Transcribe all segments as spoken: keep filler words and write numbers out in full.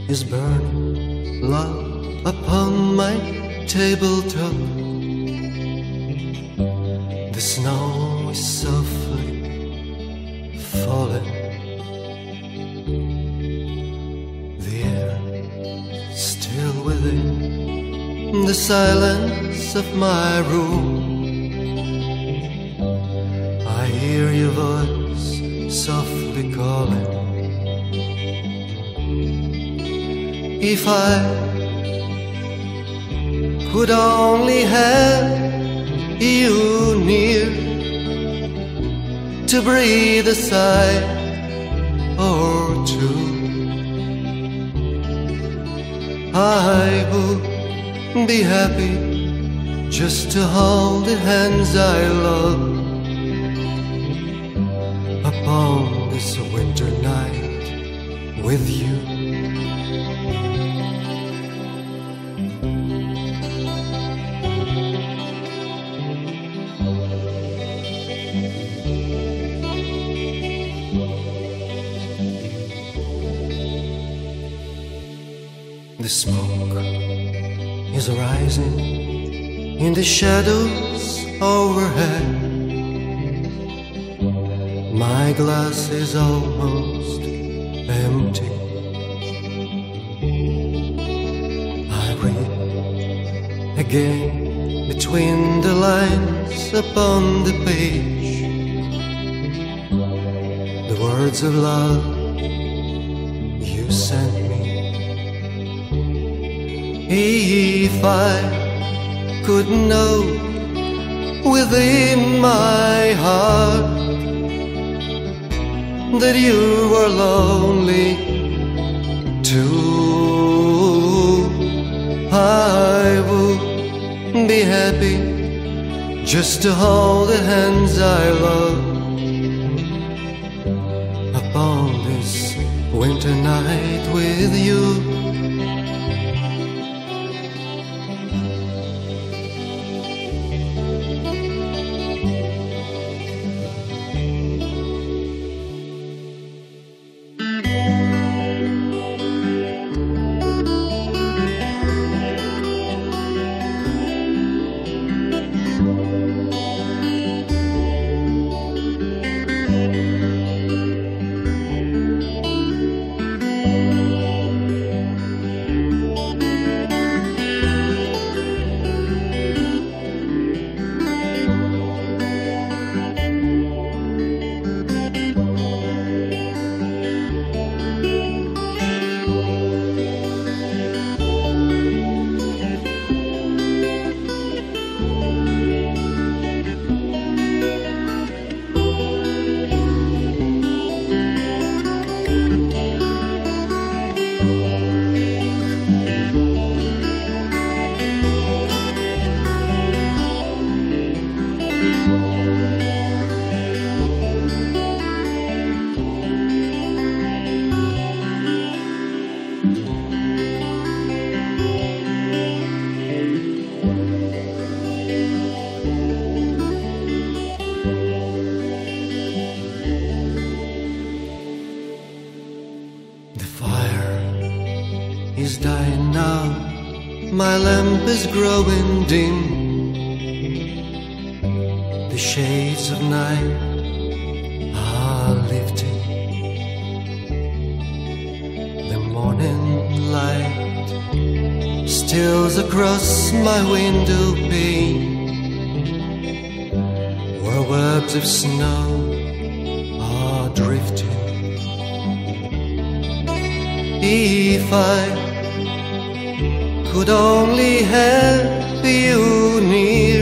is burning low upon my tabletop. The snow is softly falling. The air still within the silence of my room. I hear your voice softly calling. If I could only have you near to breathe a sigh or two, I would be happy just to hold the hands I love upon this winter night with you. The smoke is rising in the shadows overhead. My glass is almost empty. I read again between the lines upon the page the words of love you sent me. If I could know within my heart that you were lonely too, I would be happy just to hold the hands I love upon this winter night with you. Is dying now, my lamp is growing dim. The shades of night are lifting. The morning light steals across my window pane, where webs of snow are drifting. If I could only have you near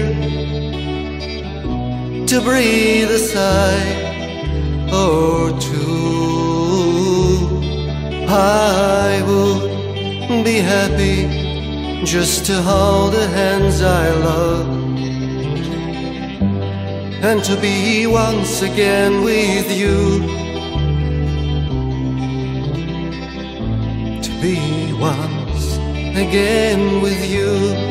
to breathe a sigh or two, I would be happy just to hold the hands I love and to be once again with you. To be once again with you,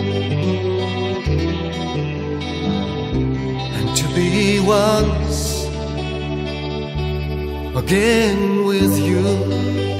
and to be once again with you.